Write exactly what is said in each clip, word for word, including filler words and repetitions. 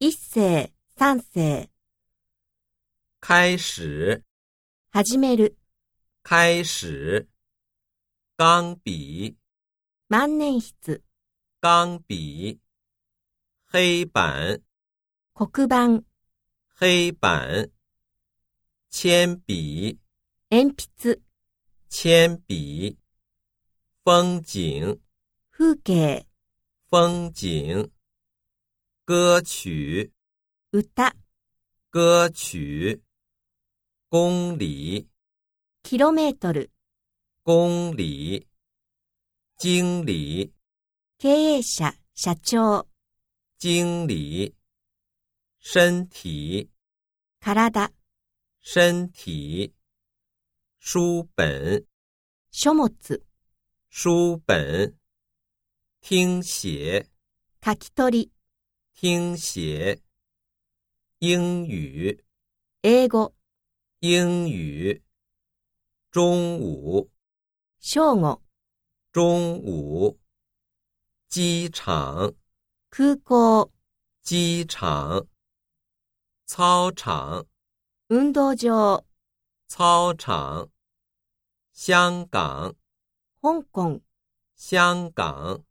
一世、三世。 開始、 始める。 開始。鋼筆、 万年筆。 鋼筆。黑板、 黒板。 黑板。鉛筆、 鉛筆。 鉛筆。風景、 風景。 風景。歌曲、 歌。 歌曲。公里、 キロメートル。 公里。經理、 経営者、社長。 經理。身體、 体。 身體。書本、 書物。 書本。聽寫、 書き取り。 聽寫。英語、 英語。 英語。中午、 正午。 中午。機場、 空港。 機場。操場、 運動場。 操場。香港、 香港。 香港。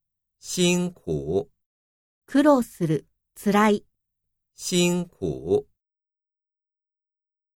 辛苦、 苦労する。辛い。 辛苦。